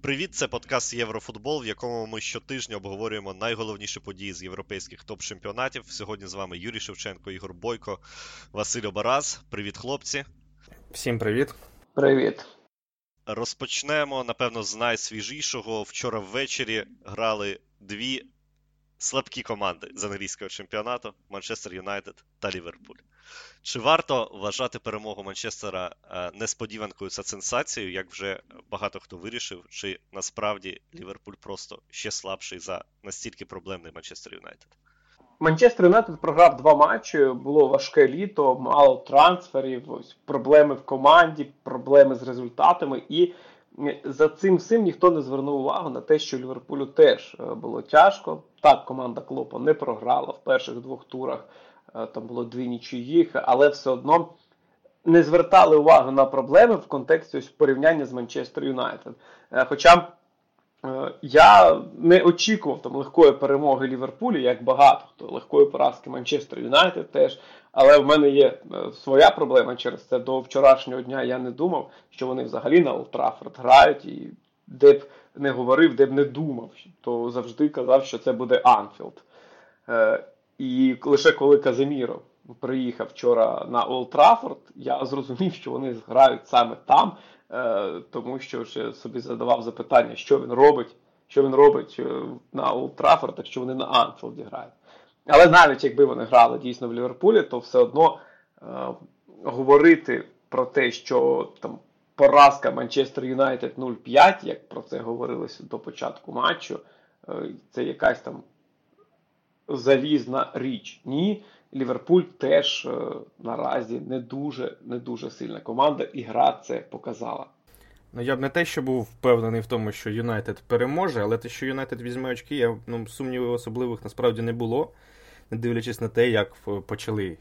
Привіт, це подкаст Єврофутбол, в якому ми щотижня обговорюємо найголовніші події з європейських топ-чемпіонатів. Сьогодні з вами Юрій Шевченко, Ігор Бойко, Василь Обараз. Привіт, хлопці. Всім привіт. Привіт. Розпочнемо, напевно, з найсвіжішого. Вчора ввечері грали дві слабкі команди з англійського чемпіонату – Манчестер Юнайтед та Ліверпуль. Чи варто вважати перемогу Манчестера несподіванкою та сенсацією, як вже багато хто вирішив, чи насправді Ліверпуль просто ще слабший за настільки проблемний Манчестер Юнайтед? Манчестер Юнайтед програв 2 матчі, було важке літо, мало трансферів, проблеми в команді, проблеми з результатами. І за цим всім ніхто не звернув увагу на те, що Ліверпулю теж було тяжко. Так, команда Клопа не програла в перших 2 турах, там було 2 нічиїх, але все одно не звертали увагу на проблеми в контексті порівняння з Манчестер Юнайтед. Хоча я не очікував там легкої перемоги Ліверпулю, як багато хто, легкої поразки Манчестер Юнайтед теж, але в мене є своя проблема через це. До вчорашнього дня я не думав, що вони взагалі на Олд Траффорд грають, і де б не говорив, де б не думав, то завжди казав, що це буде Анфілд. І лише коли Каземіро приїхав вчора на Олд Траффорд, я зрозумів, що вони грають саме там, тому що ще собі задавав запитання, що він робить на Олд Траффорд, якщо вони на Анфілді грають. Але навіть якби вони грали дійсно в Ліверпулі, то все одно говорити про те, що там поразка Манчестер Юнайтед 0-5, як про це говорилося до початку матчу, це якась там залізна річ. Ні, Ліверпуль теж наразі не дуже сильна команда, і гра це показала. Ну, я б не те, що був впевнений в тому, що Юнайтед переможе, але те, що Юнайтед візьме очки, сумнівів особливих насправді не було, не дивлячись на те, як почали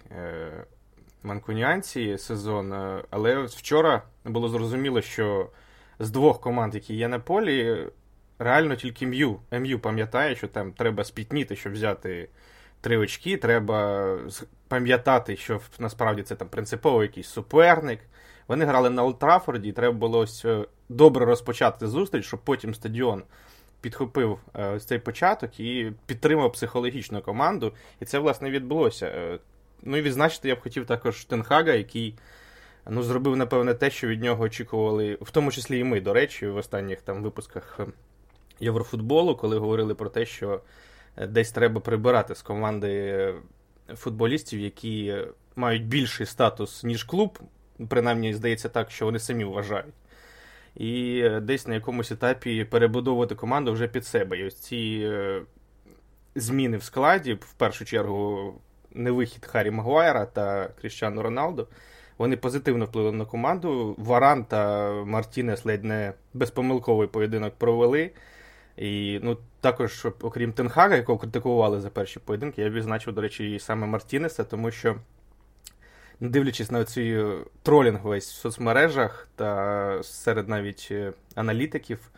манкуніанці сезон. Але вчора було зрозуміло, що з 2 команд, які є на полі, реально тільки МЮ пам'ятає, що там треба спітніти, щоб взяти 3 очки, треба пам'ятати, що насправді це там принципово якийсь суперник. Вони грали на Олд Траффорді, і треба було добре розпочати зустріч, щоб потім стадіон підхопив ось цей початок і підтримав психологічну команду. І це, власне, відбулося. Ну і відзначити я б хотів також Тен Хага, який зробив, напевне, те, що від нього очікували, в тому числі і ми, до речі, в останніх там випусках Єврофутболу, коли говорили про те, що десь треба прибирати з команди футболістів, які мають більший статус, ніж клуб. Принаймні, здається так, що вони самі вважають. І десь на якомусь етапі перебудовувати команду вже під себе. І ось ці зміни в складі, в першу чергу, невихід Харрі Магуайра та Кріштіану Роналду, вони позитивно впливали на команду. Варан та Мартінес ледь не безпомилковий поєдинок провели. І також, окрім Тен Хага, якого критикували за перші поєдинки, я відзначив, до речі, і саме Мартінеса, тому що, не дивлячись на цей тролінг весь в соцмережах та серед навіть аналітиків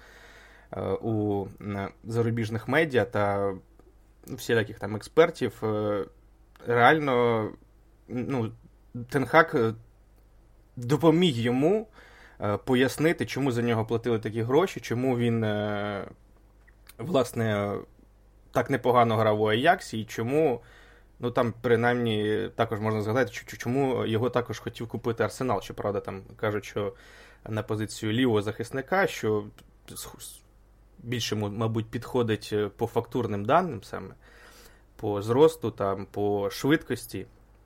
у зарубіжних медіа та всіляких там експертів, реально Тен Хаг допоміг йому пояснити, чому за нього платили такі гроші, чому він, власне, так непогано грав у Аяксі і чому, там принаймні також можна згадати, чому його також хотів купити Арсенал. Щоправда, там кажуть, що на позицію лівого захисника, що більше, мабуть, підходить по фактурним даним саме, по зросту, там, по швидкості.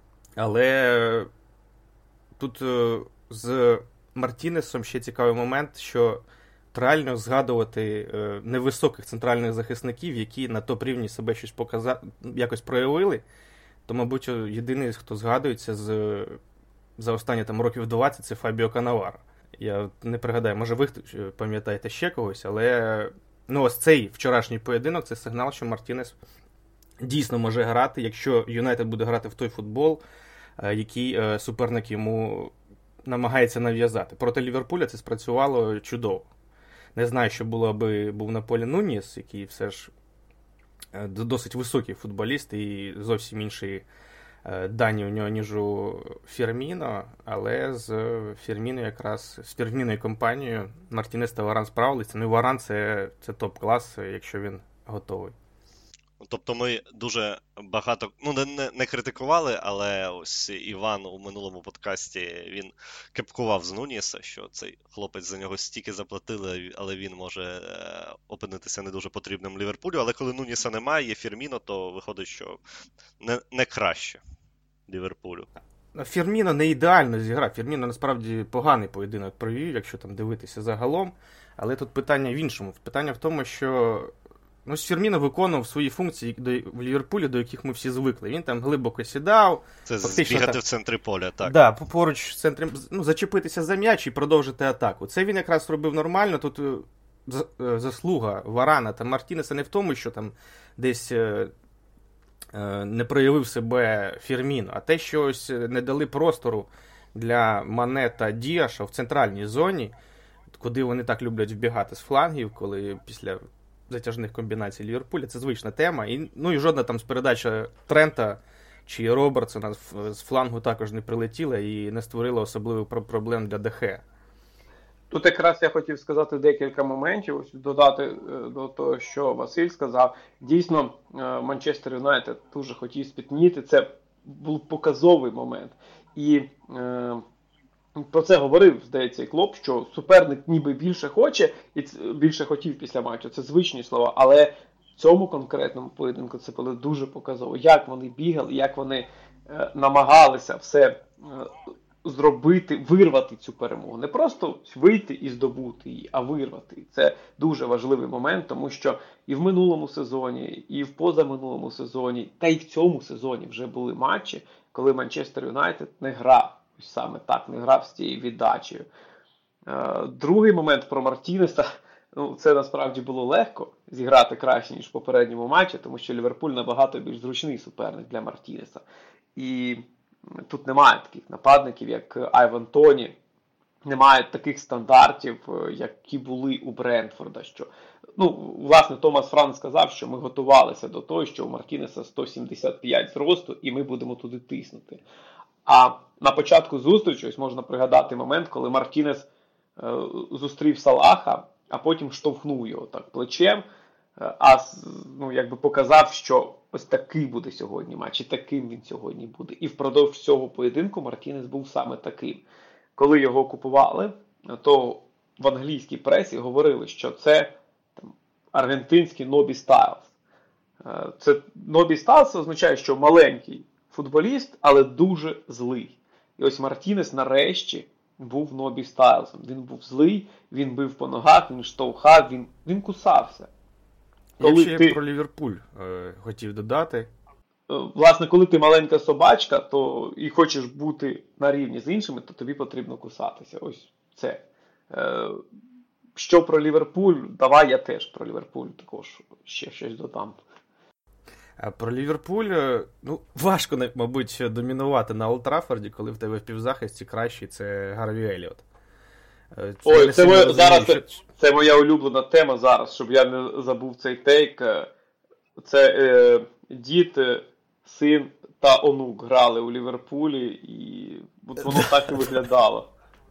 Але тут з Мартінесом ще цікавий момент, що реально згадувати невисоких центральних захисників, які на топ-рівні себе щось якось проявили, то, мабуть, єдиний, хто згадується за останні там років 20, це Фабіо Канаваро. Я не пригадаю, може ви пам'ятаєте ще когось, але ось цей вчорашній поєдинок – це сигнал, що Мартінес дійсно може грати, якщо Юнайтед буде грати в той футбол, який суперник йому намагається нав'язати. Проти Ліверпуля це спрацювало чудово. Не знаю, що було, аби був на полі Нуніс, який все ж досить високий футболіст і зовсім інший дані у нього, ніж у Фірміно, але з Фірміною компанією Мартінес та Варан справилися. Ну і Варан це топ-клас, якщо він готовий. Тобто ми дуже багато, не критикували, але ось Іван у минулому подкасті, він кепкував з Нуніса, що цей хлопець за нього стільки заплатили, але він може опинитися не дуже потрібним Ліверпулю. Але коли Нуніса немає, є Фірміно, то виходить, що не краще Ліверпулю. Фірміно не ідеально зіграв. Фірміно насправді поганий поєдинок провів, якщо там дивитися загалом. Але тут питання в іншому. Питання в тому, що Фірміно виконував свої функції в Ліверпулі, до яких ми всі звикли. Він там глибоко сідав. Це збігати в центрі поля, так. Да, поруч в центрі, зачепитися за м'яч і продовжити атаку. Це він якраз робив нормально. Тут заслуга Варана та Мартінеса не в тому, що там десь не проявив себе Фірміно, а те, що ось не дали простору для Мане та Діаша в центральній зоні, куди вони так люблять вбігати з флангів, коли після затяжних комбінацій Ліверпуля. Це звична тема. І жодна там з передача Трента чи Робертсона з флангу також не прилетіла і не створила особливих проблем для ДХ. Тут якраз я хотів сказати декілька моментів, ось додати до того, що Василь сказав. Дійсно, Манчестер Юнайтед дуже хотів спітніти. Це був показовий момент. І про це говорив, здається, і Клоп, що суперник ніби більше хоче і більше хотів після матчу. Це звичні слова. Але в цьому конкретному поєдинку це було дуже показово. Як вони бігали, як вони намагалися все зробити, вирвати цю перемогу. Не просто вийти і здобути її, а вирвати. Це дуже важливий момент, тому що і в минулому сезоні, і в позаминулому сезоні, та й в цьому сезоні вже були матчі, коли Манчестер Юнайтед не грав. Саме так, не грав з цією віддачею. Другий момент про Мартінеса. Це насправді було легко зіграти краще, ніж в попередньому матчі, тому що Ліверпуль набагато більш зручний суперник для Мартінеса. І тут немає таких нападників, як Айван Тоні, немає таких стандартів, які були у Брентфорда. Що, власне, Томас Франк сказав, що ми готувалися до того, що у Мартінеса 175 зросту, і ми будемо туди тиснути. А на початку зустрічі, ось можна пригадати момент, коли Мартінес зустрів Салаха, а потім штовхнув його так плечем, якби показав, що ось такий буде сьогодні матч, і таким він сьогодні буде. І впродовж цього поєдинку Мартінес був саме таким. Коли його купували, то в англійській пресі говорили, що це аргентинський Нобі Стайлз. Це Нобі Стайлз означає, що маленький футболіст, але дуже злий. І ось Мартінес нарешті був Нобі Стайлзом. Він був злий, він бив по ногах, він штовхав, він кусався. Я ще про Ліверпуль хотів додати. Власне, коли ти маленька собачка, то і хочеш бути на рівні з іншими, то тобі потрібно кусатися. Ось це. Що про Ліверпуль? Давай я теж про Ліверпуль також ще щось додам. Про Ліверпуль, важко, мабуть, домінувати на Олд Траффорді, коли в тебе в півзахисті кращий це Гарві Еліот. Це моя улюблена тема зараз, щоб я не забув цей тейк. Це дід, син та онук грали у Ліверпулі, і воно так і виглядало.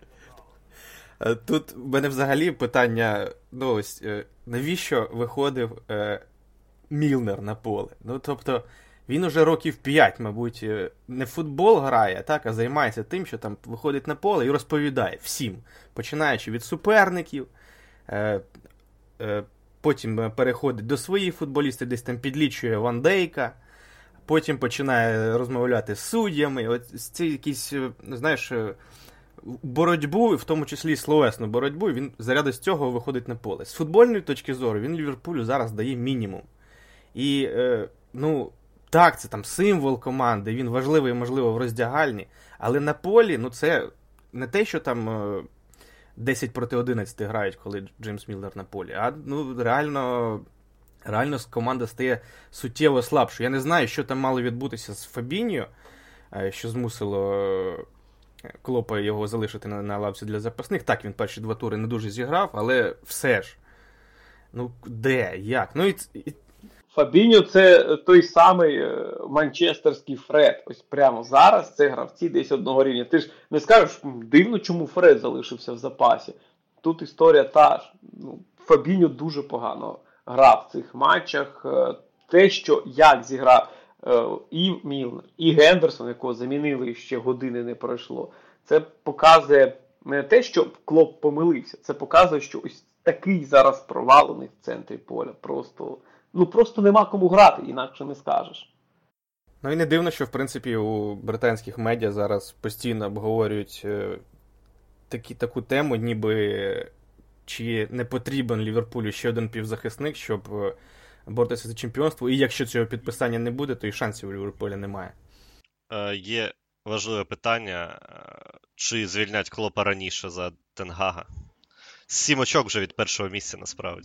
Тут в мене взагалі питання, навіщо виходив Мілнер на поле? Тобто, він уже років 5, мабуть, не в футбол грає, а займається тим, що там виходить на поле і розповідає всім, починаючи від суперників, потім переходить до своїх футболістів, десь там підлічує Ван Дейка, потім починає розмовляти з суддями, ці якісь, боротьбу, в тому числі словесну боротьбу, він заряду з цього виходить на поле. З футбольної точки зору він Ліверпулю зараз дає мінімум. І, так, це там символ команди, він важливий, можливо, в роздягальні, але на полі, це не те, що там 10 проти 11 грають, коли Джеймс Мілнер на полі, а реально команда стає суттєво слабшою. Я не знаю, що там мало відбутися з Фабіньо, що змусило Клопа його залишити на лавці для запасних. Так, він перші 2 тури не дуже зіграв, але все ж. Де? Як? Фабіньо це той самий манчестерський Фред. Ось прямо зараз це гравці десь одного рівня. Ти ж не скажеш, дивно, чому Фред залишився в запасі. Тут історія та ж. Фабіньо дуже погано грав в цих матчах. Те, що як зіграв і Мілнер, і Гендерсон, якого замінили, ще години не пройшло, це показує не те, що Клоп помилився, це показує, що ось такий зараз провал у них в центрі поля. Просто нема кому грати, інакше не скажеш. Ну і не дивно, що в принципі у британських медіа зараз постійно обговорюють таку тему, ніби чи не потрібен Ліверпулю ще один півзахисник, щоб боротися за чемпіонство, і якщо цього підписання не буде, то і шансів у Ліверпуля немає. Є важливе питання, чи звільнять Клопа раніше за Тен Гага? 7 очок вже від першого місця, насправді.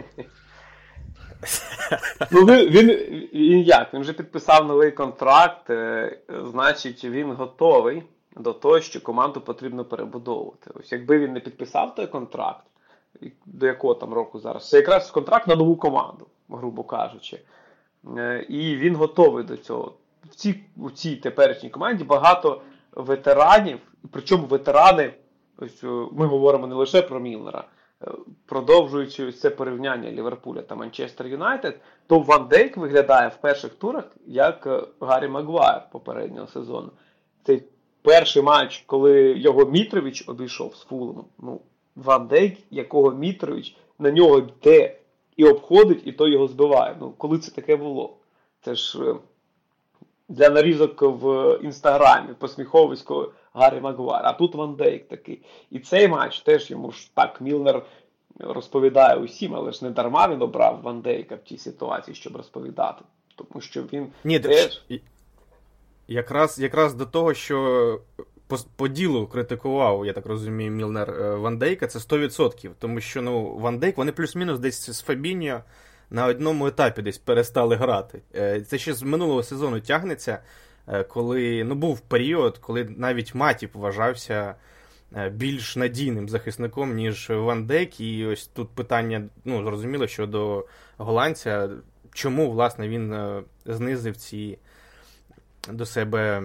Він як? Він вже підписав новий контракт, значить він готовий до того, що команду потрібно перебудовувати. Ось якби він не підписав той контракт, до якого там року зараз, це якраз контракт на нову команду, грубо кажучи. І він готовий до цього. В цій теперішній команді багато ветеранів, причому ветерани, ось ми говоримо не лише про Мілнера, продовжуючи це порівняння Ліверпуля та Манчестер Юнайтед, то Ван Дейк виглядає в перших турах як Гаррі Магуайр попереднього сезону. Цей перший матч, коли його Мітрович обійшов з Фулемом, Ван Дейк, якого Мітрович на нього йде і обходить, і то його збиває. Коли це таке було? Це ж для нарізок в Інстаграмі, посміховисько Гаррі Магуайр. А тут Ван Дейк такий. І цей матч теж йому ж так Мілнер розповідає усім, але ж не дарма він обрав Ван Дейка в тій ситуації, щоб розповідати. Тому що він теж... Якраз до того, що по ділу критикував, я так розумію, Мілнер Ван Дейка, це 100%. Тому що, Ван Дейк, вони плюс-мінус десь з Фабіньо на одному етапі десь перестали грати. Це ще з минулого сезону тягнеться, коли, був період, коли навіть Матіп вважався більш надійним захисником, ніж Ван Дейк. І ось тут питання, зрозуміло, щодо голландця, чому, власне, він знизив ці до себе,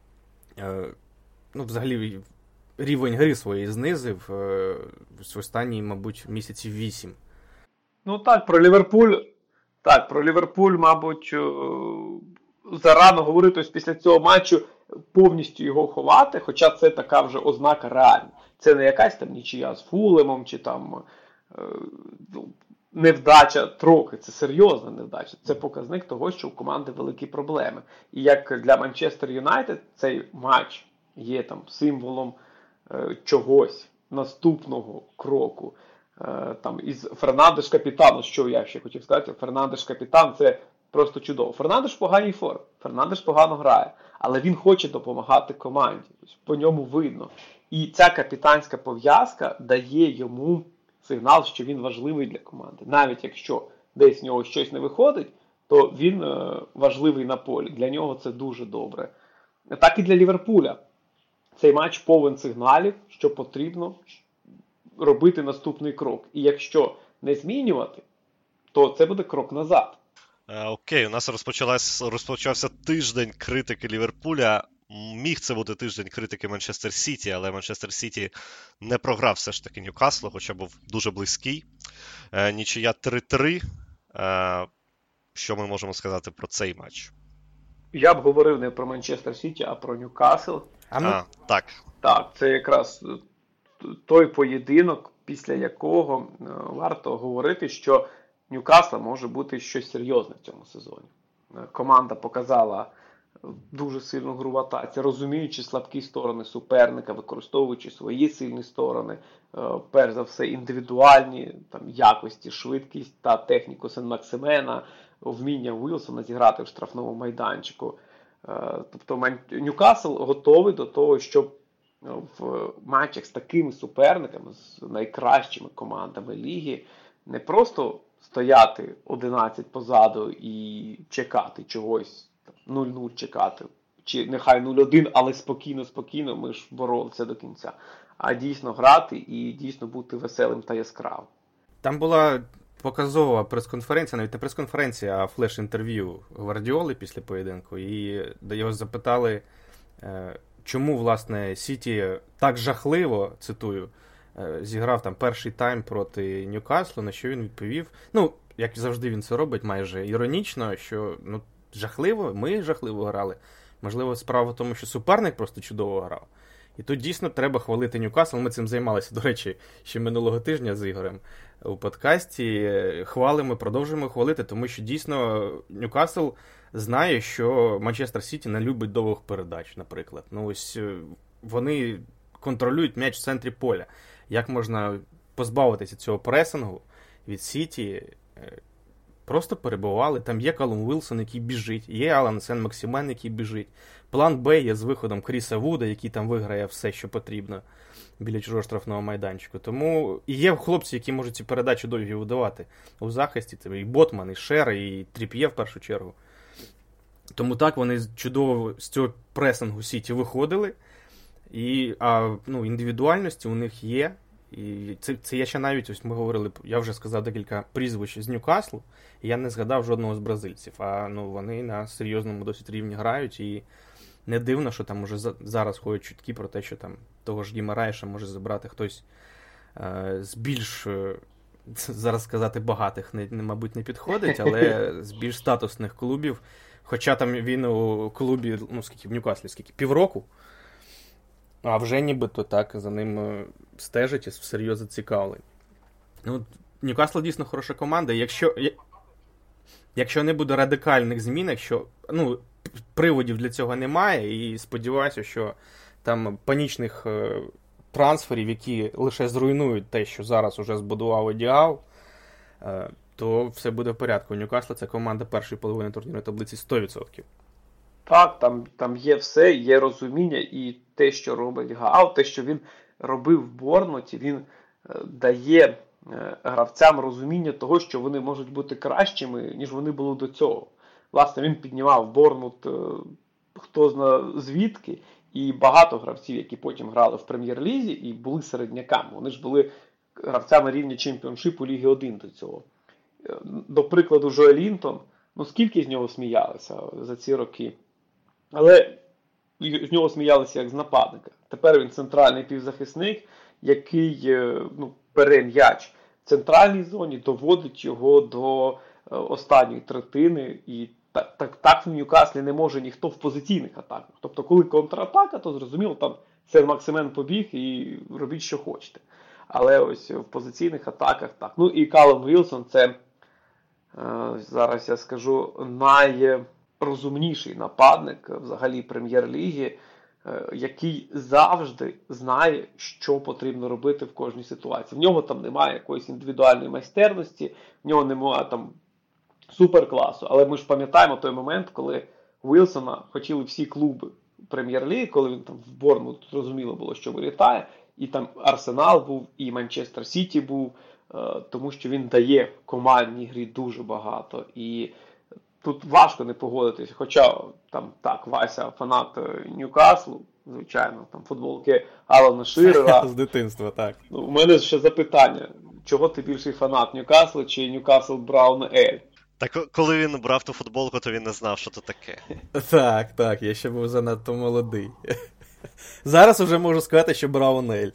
взагалі, рівень гри своєї знизив в останні, мабуть, місяців 8. Про Ліверпуль, мабуть, зарано говорити ось після цього матчу повністю його ховати, хоча це така вже ознака реальна. Це не якась там нічия з Фулемом, чи там невдача трохи, це серйозна невдача. Це показник того, що у команди великі проблеми. І як для Манчестер Юнайтед цей матч є там символом чогось, наступного кроку. Там із Фернандеш капітану, що я ще хотів сказати, Фернандеш капітан – це просто чудово. Фернандеш в поганій формі, Фернандеш погано грає, але він хоче допомагати команді, по ньому видно. І ця капітанська пов'язка дає йому сигнал, що він важливий для команди. Навіть якщо десь в нього щось не виходить, то він важливий на полі. Для нього це дуже добре. Так і для Ліверпуля. Цей матч повен сигналів, що потрібно робити наступний крок. І якщо не змінювати, то це буде крок назад. Окей, у нас розпочався тиждень критики Ліверпуля. Міг це бути тиждень критики Манчестер Сіті, але Манчестер Сіті не програв все ж таки Ньюкаслу, хоча був дуже близький. Нічия 3-3. Що ми можемо сказати про цей матч? Я б говорив не про Манчестер Сіті, а про Ньюкасл. Так. Так, це якраз той поєдинок, після якого варто говорити, що Ньюкасла може бути щось серйозне в цьому сезоні. Команда показала дуже сильну гру в атаці, розуміючи слабкі сторони суперника, використовуючи свої сильні сторони, перш за все індивідуальні якості, швидкість та техніку Сен-Максимена, вміння Уілсона зіграти в штрафному майданчику. Тобто Ньюкасл готовий до того, щоб в матчах з такими суперниками, з найкращими командами ліги, не просто стояти 11 позаду і чекати чогось, 0-0 чекати, чи нехай 0-1, але спокійно, ми ж боролися до кінця, а дійсно грати і дійсно бути веселим та яскравим. Там була показова прес-конференція, навіть не прес-конференція, а флеш-інтерв'ю Гвардіоли після поєдинку. І його запитали, чому, власне, Сіті так жахливо, цитую, зіграв там перший тайм проти Ньюкаслу, на що він відповів. Ну, як завжди він це робить, майже іронічно, що жахливо, ми жахливо грали. Можливо, справа в тому, що суперник просто чудово грав. І тут дійсно треба хвалити Ньюкасл. Ми цим займалися, до речі, ще минулого тижня з Ігорем у подкасті. Хвалимо, продовжуємо хвалити, тому що дійсно Ньюкасл знає, що Манчестер Сіті не любить довгих передач, наприклад. Ось вони контролюють м'яч в центрі поля. Як можна позбавитися цього пресингу від Сіті? Просто перебували. Там є Калум Вілсон, який біжить, є Алан Сен-Максимен, який біжить. План Б є з виходом Кріса Вуда, який там виграє все, що потрібно біля чужого штрафного майданчику. Тому і є хлопці, які можуть ці передачі довгі видавати у захисті. Це і Ботман, і Шер, і Тріп'є в першу чергу. Тому так вони чудово з цього пресингу Сіті виходили. А індивідуальності у них є. І це я ще навіть, ось ми говорили, я вже сказав декілька прізвищ з Ньюкаслу, і я не згадав жодного з бразильців. Вони на серйозному досить рівні грають, і не дивно, що там уже зараз ходять чутки про те, що там того ж Гімараєша може забрати хтось з більш, зараз сказати, багатих, мабуть, не підходить, але з більш статусних клубів. Хоча там він у клубі, в Ньюкаслі, півроку, а вже нібито так за ним стежить і всерйоз зацікавлені. Ньюкасл дійсно хороша команда. Якщо не буде радикальних змін, якщо приводів для цього немає, і сподіваюся, що там панічних трансферів, які лише зруйнують те, що зараз уже збудував Едіау, то все буде в порядку. У Ньюкасла це команда першої половини турнірної таблиці 100%. Так, там є все, є розуміння, і те, що робить Гаал, те, що він робив в Борнмуті, він дає гравцям розуміння того, що вони можуть бути кращими, ніж вони були до цього. Власне, він піднімав Борнмут хто зна звідки, і багато гравців, які потім грали в Прем'єр-лізі і були середняками. Вони ж були гравцями рівня чемпіоншипу Ліги 1 до цього. До прикладу, Джо Елінтон, скільки з нього сміялися за ці роки. Але з нього сміялися як з нападника. Тепер він центральний півзахисник, який бере м'яч в центральній зоні, доводить його до останньої третини. І так в Ньюкаслі не може ніхто в позиційних атаках. Тобто, коли контратака, то зрозуміло, там Сен-Максимен побіг і робіть, що хочете. Але ось в позиційних атаках так. І Калум Вілсон – це, зараз я скажу, найрозумніший нападник взагалі Прем'єр-ліги, який завжди знає, що потрібно робити в кожній ситуації. В нього там немає якоїсь індивідуальної майстерності, в нього немає там суперкласу. Але ми ж пам'ятаємо той момент, коли Вілсона хотіли всі клуби Прем'єр-ліги, коли він там в Борнмут, зрозуміло було, що вилітає. І там Арсенал був, і Манчестер Сіті був, тому що він дає в командній грі дуже багато. І тут важко не погодитись. Хоча там так, Вася фанат Ньюкаслу, звичайно, там футболки Алана Ширера. З дитинства, так. У мене ще запитання. Чого ти більший фанат, Ньюкаслу чи Ньюкасл Браун Ель? Так коли він брав ту футболку, то він не знав, що це таке. Так, я ще був занадто молодий. Зараз вже можу сказати, що Браун Ель.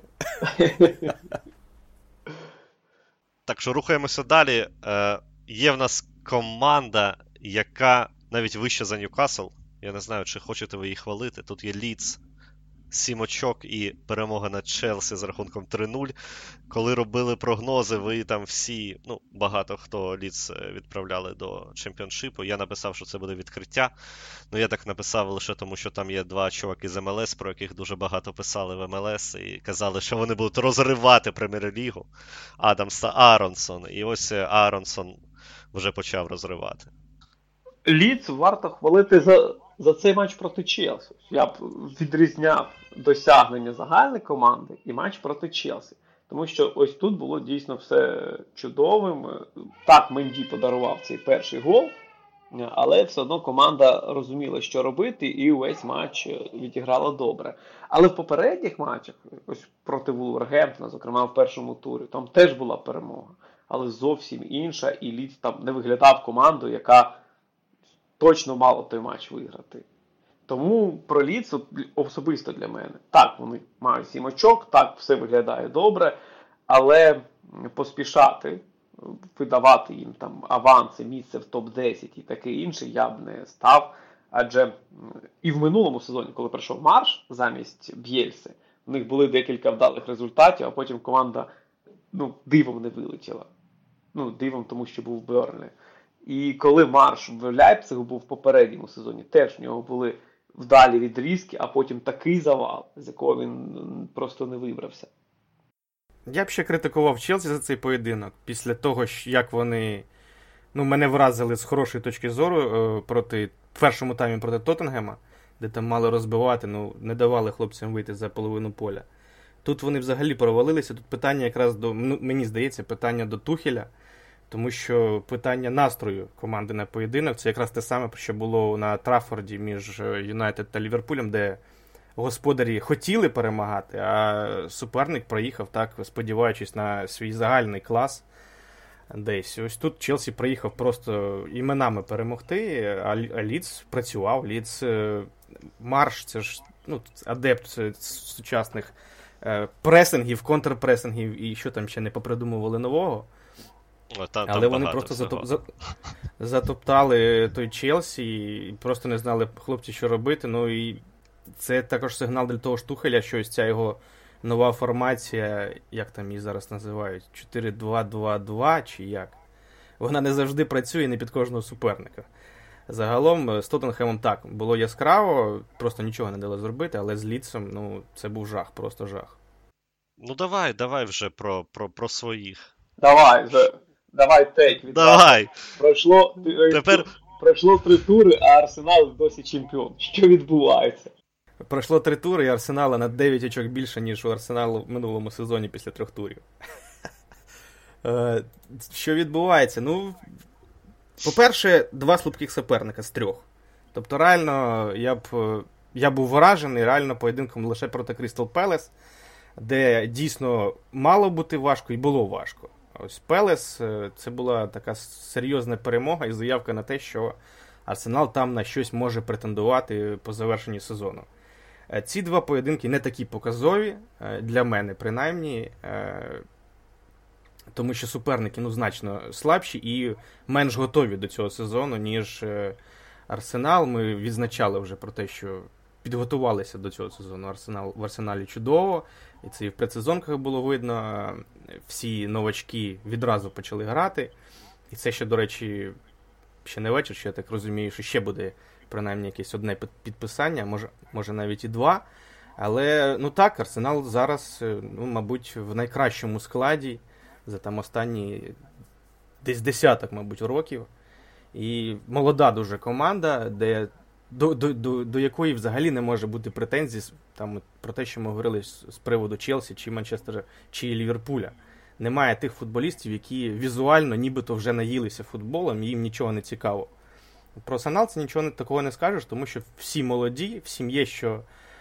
Так що рухаємося далі. Є в нас команда, яка навіть вища за Ньюкасл. Я не знаю, чи хочете ви її хвалити. Тут є Лідс, 7 очок і перемога над Челсі з рахунком 3-0. Коли робили прогнози, ви там всі, багато хто Лідс відправляли до чемпіоншипу. Я написав, що це буде відкриття. Я так написав лише тому, що там є два чуваки з МЛС, про яких дуже багато писали в МЛС, і казали, що вони будуть розривати Прем'єр-лігу. Адамс та Аронсон. І ось Аронсон вже почав розривати. Лідс варто хвалити за цей матч проти Челсі. Я б відрізняв досягнення загальної команди і матч проти Челсі. Тому що ось тут було дійсно все чудовим. Так, Менді подарував цей перший гол, але все одно команда розуміла, що робити, і увесь матч відіграла добре. Але в попередніх матчах, ось проти Вулвергемптона, зокрема в першому турі, там теж була перемога. але зовсім інша, і Лідс там не виглядав командою, яка точно мала той матч виграти. Тому про Лідс особисто для мене. Так, вони мають 7 очок, так, все виглядає добре, але поспішати, видавати їм там аванси, місце в топ-10 і таке інше я б не став. Адже і в минулому сезоні, коли прийшов Марш замість Б'єльси, в них були декілька вдалих результатів, а потім команда дивом не вилетіла. Дивом, тому що був Берлі. І коли Марш в Ляйпцигу був в попередньому сезоні, теж в нього були вдалі відрізки, а потім такий завал, з якого він просто не вибрався. Я б ще критикував Челсі за цей поєдинок. Після того, як вони мене вразили з хорошої точки зору в першому таймі проти Тоттенгема, де там мали розбивати, не давали хлопцям вийти за половину поля. Тут вони взагалі провалилися. Тут питання якраз мені здається, питання до Тухеля, тому що питання настрою команди на поєдинок, це якраз те саме, що було на Траффорді між Юнайтед та Ліверпулем, де господарі хотіли перемагати, а суперник проїхав так, сподіваючись на свій загальний клас десь. Ось тут Челсі приїхав просто іменами перемогти, а Лідс працював. Лідс Марш, це ж адепт сучасних пресингів, контрпресингів і що там ще не попридумували нового. Але вони просто затоптали той Челсі і просто не знали хлопці, що робити. І це також сигнал для того Тухеля, що ось ця його нова формація, як там її зараз називають, 4-2-2-2 чи як, вона не завжди працює не під кожного суперника. Загалом з Тоттенхемом так, було яскраво, просто нічого не дало зробити, але з Лідсом, це був жах, просто жах. Давай вже про своїх. Давай тейк від Давай. Пройшло 3 тури, а Арсенал досі чемпіон. Що відбувається? Пройшло 3 тури, і Арсенала на 9 очок більше, ніж у Арсеналу в минулому сезоні після 3 турів. Що відбувається? По-перше, 2 слабких суперника з 3. Тобто, реально, я був вражений реально поєдинком лише проти Крістал Пелес, де дійсно мало бути важко і було важко. Ось Пелес, це була така серйозна перемога і заявка на те, що Арсенал там на щось може претендувати по завершенні сезону. Ці 2 поєдинки не такі показові, для мене принаймні, тому що суперники значно слабші і менш готові до цього сезону, ніж Арсенал. Ми відзначали вже про те, що підготувалися до цього сезону в Арсеналі чудово, і це і в предсезонках було видно. Всі новачки відразу почали грати. І це ще, до речі, ще не вечір, що я так розумію, що ще буде принаймні якесь одне підписання, може навіть і 2. Але, так, Арсенал зараз, мабуть, в найкращому складі за там останні десь десяток, мабуть, років. І молода дуже команда, до якої взагалі не може бути претензій там, про те, що ми говорили з приводу Челсі, чи Манчестера, чи Ліверпуля. Немає тих футболістів, які візуально нібито вже наїлися футболом, і їм нічого не цікаво. Про Арсенал це нічого такого не скажеш, тому що всі молоді, всім є що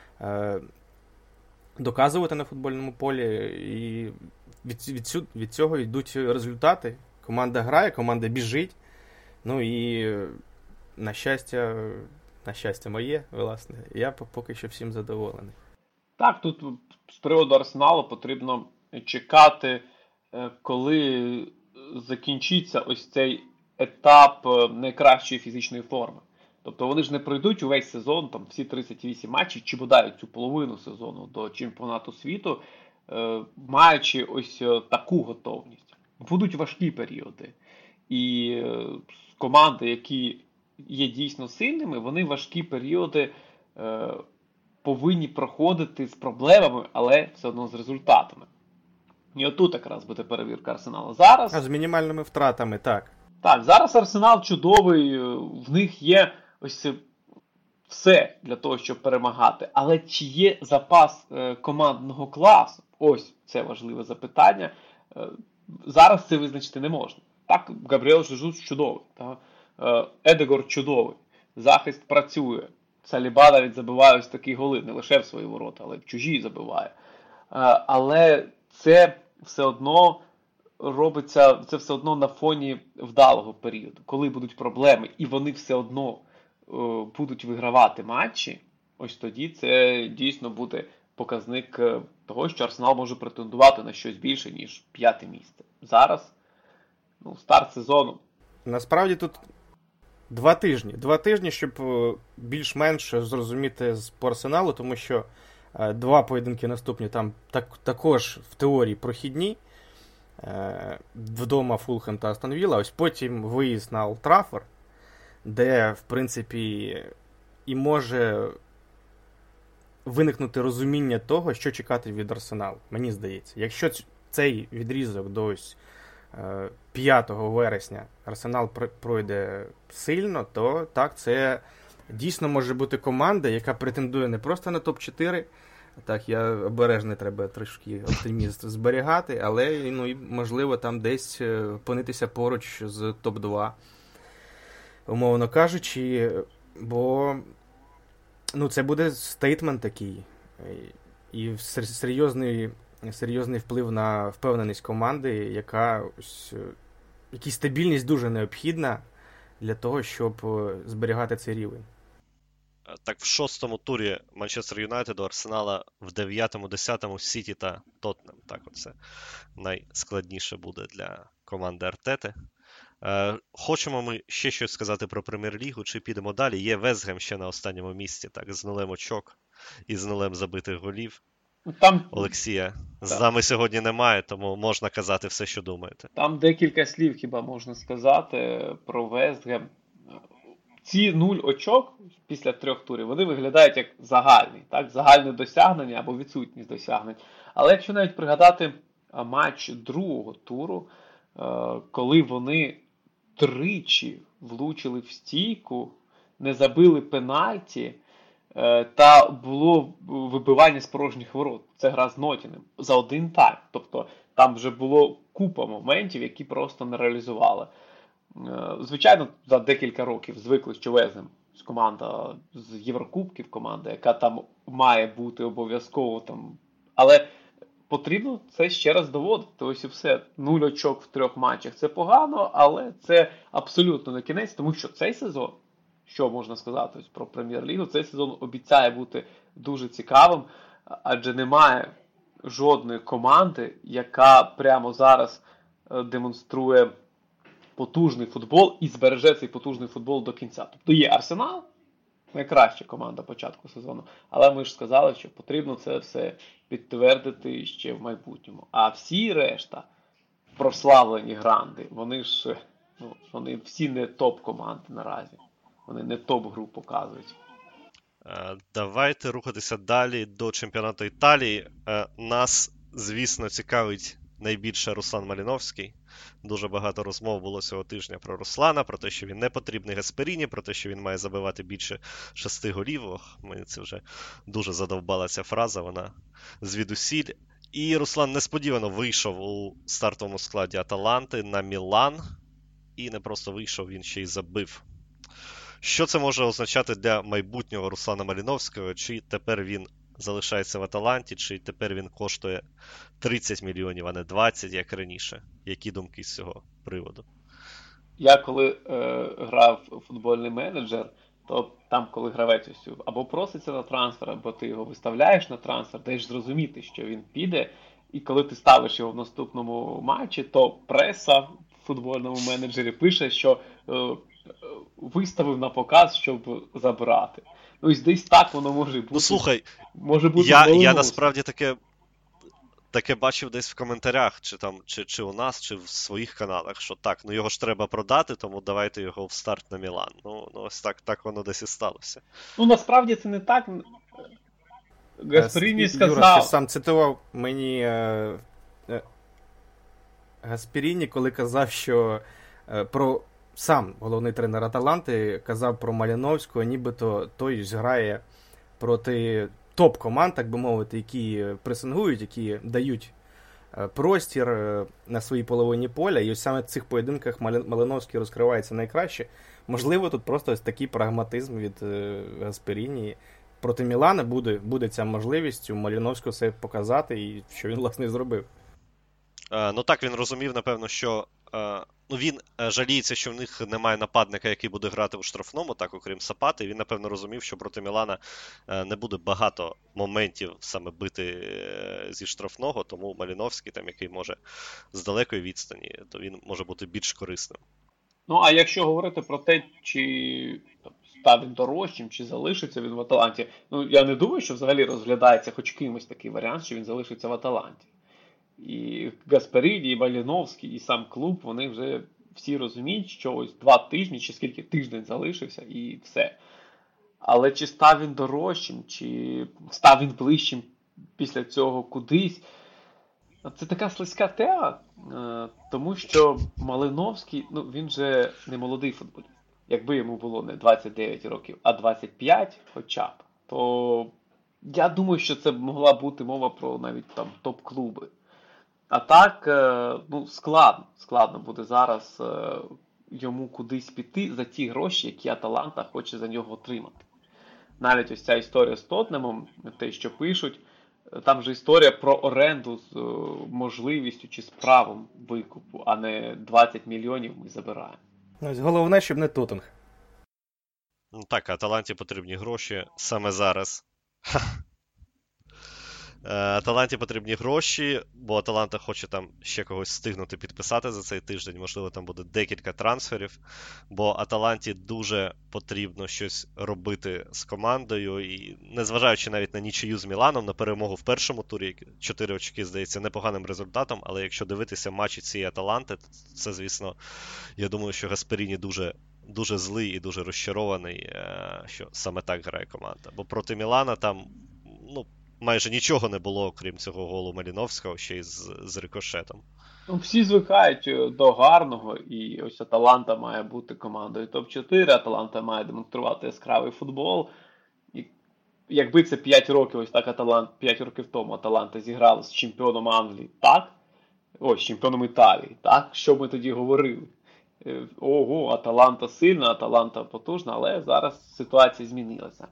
доказувати на футбольному полі, і від цього йдуть результати. Команда грає, команда біжить, і на щастя моє, власне, я поки що всім задоволений. Так, тут з приводу Арсеналу потрібно чекати, коли закінчиться ось цей етап найкращої фізичної форми. Тобто вони ж не пройдуть увесь сезон, там всі 38 матчів, чи бодай цю половину сезону до чемпіонату світу, маючи ось таку готовність. Будуть важкі періоди. І команди, які є дійсно сильними, вони важкі періоди повинні проходити з проблемами, але все одно з результатами. І отут якраз буде перевірка Арсеналу. Зараз... з мінімальними втратами, так. Так, зараз Арсенал чудовий, в них є ось все для того, щоб перемагати. Але чи є запас командного класу? Ось це важливе запитання. Зараз це визначити не можна. Так, Габріель Жезус чудовий. Так? Едегор чудовий. Захист працює. Саліба навіть забиває ось такі голи. Не лише в свої ворота, але в чужі забиває. Але це все одно робиться це все одно на фоні вдалого періоду, коли будуть проблеми, і вони все одно будуть вигравати матчі, ось тоді це дійсно буде показник того, що Арсенал може претендувати на щось більше, ніж 5-те місце. Зараз, старт сезону. Насправді тут 2 тижні. 2 тижні, щоб більш-менш зрозуміти по Арсеналу, тому що 2 поєдинки наступні там також в теорії прохідні. Вдома Фулхем та Астон Вілла, ось потім виїзд на Олд Траффорд, де, в принципі, і може виникнути розуміння того, що чекати від Арсеналу, мені здається. Якщо цей відрізок до ось 5 вересня Арсенал пройде сильно, то так, це дійсно може бути команда, яка претендує не просто на топ-4, так, я обережний, треба трошки оптиміст зберігати, але, і, можливо, там десь опинитися поруч з топ-2, умовно кажучи, бо це буде стейтмент такий, і серйозний вплив на впевненість команди, якій стабільність дуже необхідна для того, щоб зберігати цей рівень. Так, в 6-му турі Манчестер Юнайтед у Арсенала, в 9-му, 10-му Сіті та Тоттенем. Так, оце найскладніше буде для команди Артети. Хочемо ми ще щось сказати про Прем'єр-лігу, чи підемо далі? Є Вест Гем ще на останньому місці, так, з 0 очок і з 0 забитих голів. Там... Олексія з нами сьогодні немає, тому можна казати все, що думаєте. Там декілька слів хіба можна сказати про Вест Гем. Ці 0 очок після 3 турів, вони виглядають як загальний, так? Загальне досягнення або відсутність досягнень. Але якщо навіть пригадати матч 2-го туру, коли вони 3 влучили в стійку, не забили пенальті, та було вибивання з порожніх ворот. Це гра з Ноттінгем за 1 тайм. Тобто там вже було купа моментів, які просто не реалізували. Звичайно, за декілька років звикли, що Вест Гем команда з Єврокубків, команда, яка там має бути обов'язково там. Але потрібно це ще раз доводити. Ось і все. 0 очок в 3 матчах. Це погано, але це абсолютно не кінець, тому що цей сезон, що можна сказати ось про Прем'єр-лігу, цей сезон обіцяє бути дуже цікавим, адже немає жодної команди, яка прямо зараз демонструє потужний футбол і збереже цей потужний футбол до кінця. Тобто є Арсенал, найкраща команда початку сезону, але ми ж сказали, що потрібно це все підтвердити ще в майбутньому. А всі решта прославлені гранди, вони всі не топ-команди наразі. Вони не топ-гру показують. Давайте рухатися далі до чемпіонату Італії. Нас, звісно, цікавить найбільше Руслан Маліновський. Дуже багато розмов було цього тижня про Руслана, про те, що він не потрібний Гасперіні, про те, що він має забивати більше 6 голів. Мені це вже дуже задовбала ця фраза, вона звідусіль. І Руслан несподівано вийшов у стартовому складі Аталанти на Мілан. І не просто вийшов, він ще й забив. Що це може означати для майбутнього Руслана Маліновського? Чи тепер він залишається в Аталанті, чи тепер він коштує 30 мільйонів, а не 20, як раніше? Які думки з цього приводу? Я коли грав у футбольний менеджер, то там, коли гравець або проситься на трансфер, або ти його виставляєш на трансфер, даєш зрозуміти, що він піде, і коли ти ставиш його в наступному матчі, то преса в футбольному менеджері пише, що виставив на показ, щоб забрати. Ось десь так воно може бути. Слухай, може бути я насправді таке бачив десь в коментарях, чи у нас, чи в своїх каналах, що так, його ж треба продати, тому давайте його в старт на Мілан. Ось так воно десь і сталося. Насправді це не так. Гасперіні сказав... Юра, ти сам цитував мені Гасперіні, коли казав, що про сам головний тренер Аталанти казав про Маліновського, нібито той грає проти топ-команд, так би мовити, які пресингують, які дають простір на своїй половині поля, і ось саме в цих поєдинках Малиновський розкривається найкраще. Можливо, тут просто ось такий прагматизм від Гасперіні. Проти Мілана буде ця можливість у Маліновського все показати, і що він, власне, і зробив. Ну так, він розумів, напевно, що він жаліється, що в них немає нападника, який буде грати у штрафному, так, окрім Сапати. Він, напевно, розумів, що проти Мілана не буде багато моментів саме бити зі штрафного, тому Маліновський, там, який може з далекої відстані, то він може бути більш корисним. Ну, а якщо говорити про те, чи став він дорожчим, чи залишиться він в Аталанті, ну, я не думаю, що взагалі розглядається хоч кимось такий варіант, що він залишиться в Аталанті. І Гасперіні, і Маліновський, і сам клуб, вони вже всі розуміють, що ось 2 тижні, чи скільки тиждень залишився, і все. Але чи став він дорожчим, чи став він ближчим після цього кудись, це така слизька тема, тому що Малиновський, ну, він же не молодий футболіст. Якби йому було не 29 років, а 25 хоча б, то я думаю, що це могла бути мова про навіть там топ-клуби. А так, ну, складно буде зараз йому кудись піти за ті гроші, які Аталанта хоче за нього отримати. Навіть ось ця історія з Тоттенхемом, те, що пишуть, там же історія про оренду з можливістю чи з правом викупу, а не 20 мільйонів ми забираємо. Головне, щоб не Тоттенхем. Ну так, Аталанті потрібні гроші саме зараз. Аталанті потрібні гроші, бо Аталанта хоче там ще когось встигнути підписати за цей тиждень. Можливо, там буде декілька трансферів, бо Аталанті дуже потрібно щось робити з командою. І незважаючи навіть на нічию з Міланом, на перемогу в першому турі, 4 очки, здається, непоганим результатом, але якщо дивитися матчі цієї Аталанти, це, звісно, я думаю, що Гасперіні дуже злий і дуже розчарований, що саме так грає команда. Бо проти Мілана там, ну, майже нічого не було, окрім цього голу Маліновського, ще й з рикошетом. Ну, всі звикають до гарного, і ось Аталанта має бути командою топ-4, Аталанта має демонструвати яскравий футбол. І якби це 5 років, ось так 5 років тому Аталанта зіграла з чемпіоном Англії, так? Ось, з чемпіоном Італії, так? Що ми тоді говорили? Ого, Аталанта сильна, Аталанта потужна, але зараз ситуація змінилася.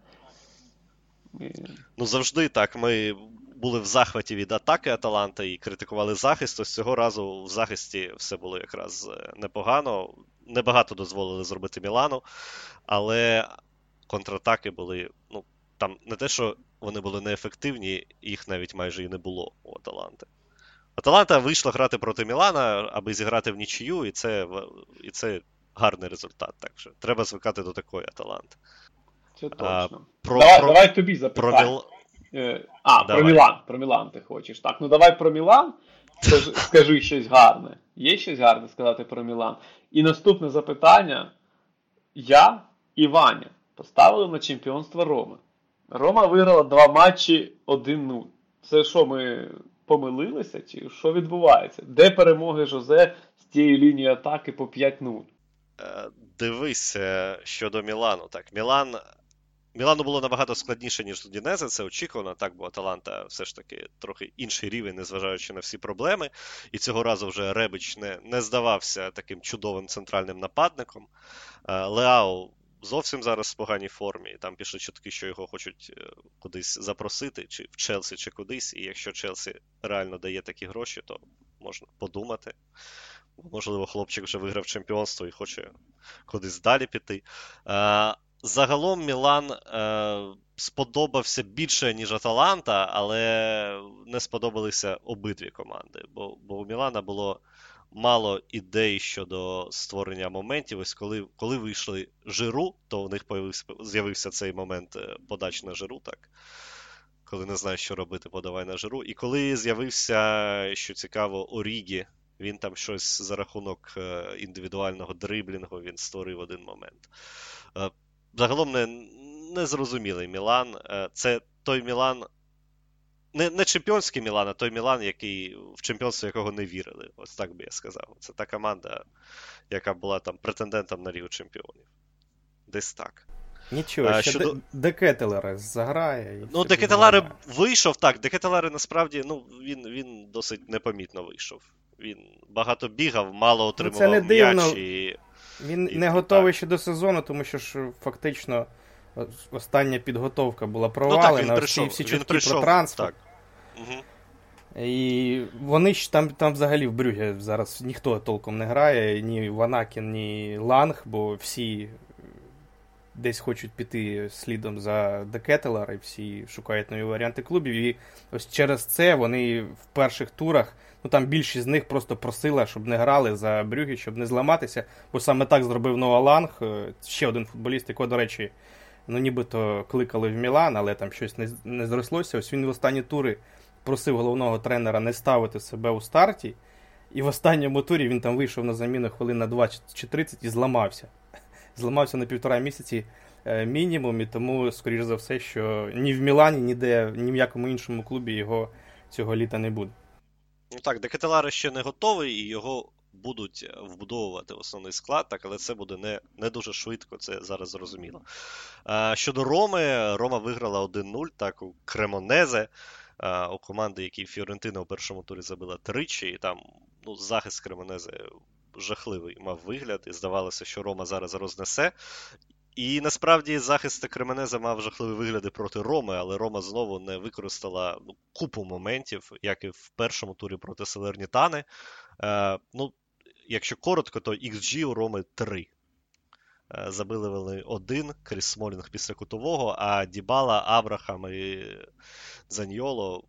Ну, завжди так. Ми були в захваті від атаки Аталанта і критикували захист. Ось цього разу в захисті все було якраз непогано. Небагато дозволили зробити Мілану, але контратаки були, ну, там не те, що вони були неефективні, їх навіть майже і не було у Аталанти. Аталанта вийшла грати проти Мілана, аби зіграти в нічию, і це гарний результат. Так що треба звикати до такої Аталанти. Це точно. Давай тобі запитаю. Про Мілан ти хочеш. Так, ну давай про Мілан. Скажи щось гарне. Є щось гарне сказати про Мілан? І наступне запитання. Я і Ваня поставили на чемпіонство Роми. Рома виграла 2 матчі 1-0. Це що, ми помилилися? Чи що відбувається? Де перемоги Жозе з тієї лінії атаки по 5-0? Дивись, щодо Мілану. Так, Мілану було набагато складніше, ніж Удінезе, це очікувано, так, бо Аталанта все ж таки трохи інший рівень, незважаючи на всі проблеми. І цього разу вже Ребич не здавався таким чудовим центральним нападником. Леао зовсім зараз в поганій формі, там пішли чутки, що його хочуть кудись запросити, чи в Челсі, чи кудись, і якщо Челсі реально дає такі гроші, то можна подумати. Можливо, хлопчик вже виграв чемпіонство і хоче кудись далі піти. Загалом Мілан сподобався більше, ніж Аталанта, але не сподобалися обидві команди. Бо у Мілана було мало ідей щодо створення моментів. Ось коли вийшли Жиру, то у них з'явився цей момент подач на Жиру, так? Коли не знаєш, що робити, подавай на Жиру. І коли з'явився, що цікаво, Орігі, він там щось за рахунок індивідуального дриблінгу, він створив один момент. Загалом незрозумілий Мілан. Це той Мілан, не чемпіонський Мілан, а той Мілан, в чемпіонство якого не вірили. Ось так би я сказав. Це та команда, яка була там претендентом на Лігу чемпіонів. Десь так. Нічого, ще Де Кетелера заграє. Ну, Де Кетелера вийшов, так. Де Кетелера насправді, ну, він досить непомітно вийшов. Він багато бігав, мало отримував м'яч і... Він не готовий ще до сезону, тому що ж фактично остання підготовка була провалена, всі чутки про трансфер. Так. Угу. І вони ж там взагалі в Брюгге зараз ніхто толком не грає, ні Ванакін, ні Ланг, бо всі десь хочуть піти слідом за Де Кетелер, і всі шукають нові варіанти клубів. І ось через це вони в перших турах, ну там більшість з них просто просила, щоб не грали за Брюгге, щоб не зламатися, бо саме так зробив Ноа Ланг, ще один футболіст, якого, до речі, ну нібито кликали в Мілан, але там щось не зрослося. Ось він в останні тури просив головного тренера не ставити себе у старті, і в останньому турі він там вийшов на заміну хвилин на 20 чи 30 і зламався. Зламався на 1,5 місяці мінімум, і тому, скоріш за все, що ні в Мілані, ніде, ні в якому іншому клубі його цього літа не буде. Ну так, Де Кетелер ще не готовий, і його будуть вбудовувати в основний склад, так, але це буде не дуже швидко, це зараз зрозуміло. Щодо Роми, Рома виграла 1-0, так, у Кремонезе, у команди, якій Фіорентина у першому турі забила тричі, і там захист Кремонезе жахливий мав вигляд, і здавалося, що Рома зараз рознесе. І насправді захист Кременеза мав жахливі вигляди проти Роми, але Рома знову не використала купу моментів, як і в першому турі проти Салернітани. Якщо коротко, то XG у Роми 3. Забили вони 1, Кріс Смолінг після кутового, а Дібала, Абрахам і Заньйоло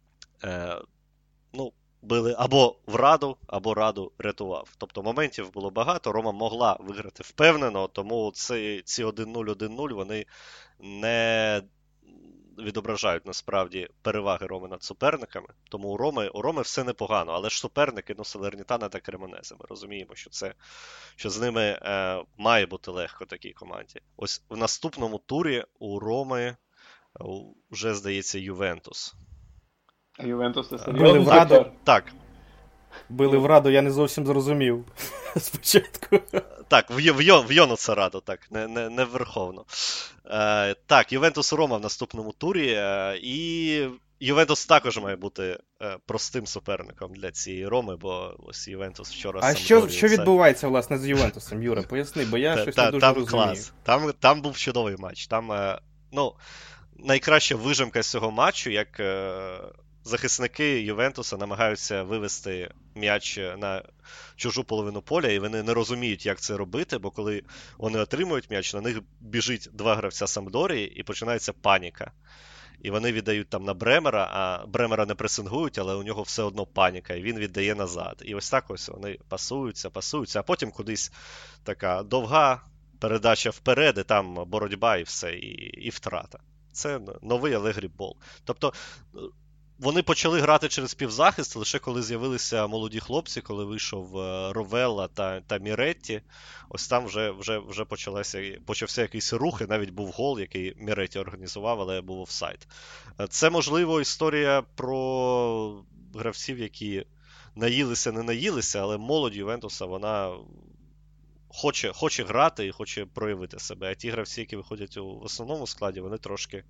били або в Раду, або Раду рятував. Тобто моментів було багато, Рома могла виграти впевнено, тому ці 1-0, 1-0, вони не відображають насправді переваги Роми над суперниками. Тому у Роми все непогано, але ж суперники, Салернітана та Кремонезе. Ми розуміємо, що з ними має бути легко такій команді. Ось в наступному турі у Роми вже, здається, Ювентус. А Ювентус це Били серйозний в Раду. сектор. Так. Били в Раду, я не зовсім зрозумів спочатку. Так, в Йонуса Раду, так, не верховно. Так, Ювентус Рома в наступному турі, і Ювентус також має бути простим суперником для цієї Роми, бо ось Ювентус вчора... А що відбувається, власне, з Ювентусом, Юра? Поясни, бо я щось не дуже там розумію. Клас. Там був чудовий матч. Там, найкраща вижимка з цього матчу, як захисники Ювентуса намагаються вивести м'яч на чужу половину поля, і вони не розуміють, як це робити, бо коли вони отримують м'яч, на них біжить 2 гравця Самдорії, і починається паніка. І вони віддають там на Бремера, а Бремера не пресингують, але у нього все одно паніка, і він віддає назад. І ось так ось вони пасуються, а потім кудись така довга передача вперед, і там боротьба і все, і втрата. Це новий Алегрі бол. Тобто вони почали грати через півзахист лише коли з'явилися молоді хлопці, коли вийшов Ровелла та Міретті. Ось там вже почався якийсь рух, і навіть був гол, який Міретті організував, але був офсайд. Це, можливо, історія про гравців, які наїлися, не наїлися, але молодь Ювентуса, вона хоче грати і хоче проявити себе. А ті гравці, які виходять у основному складі, вони трошки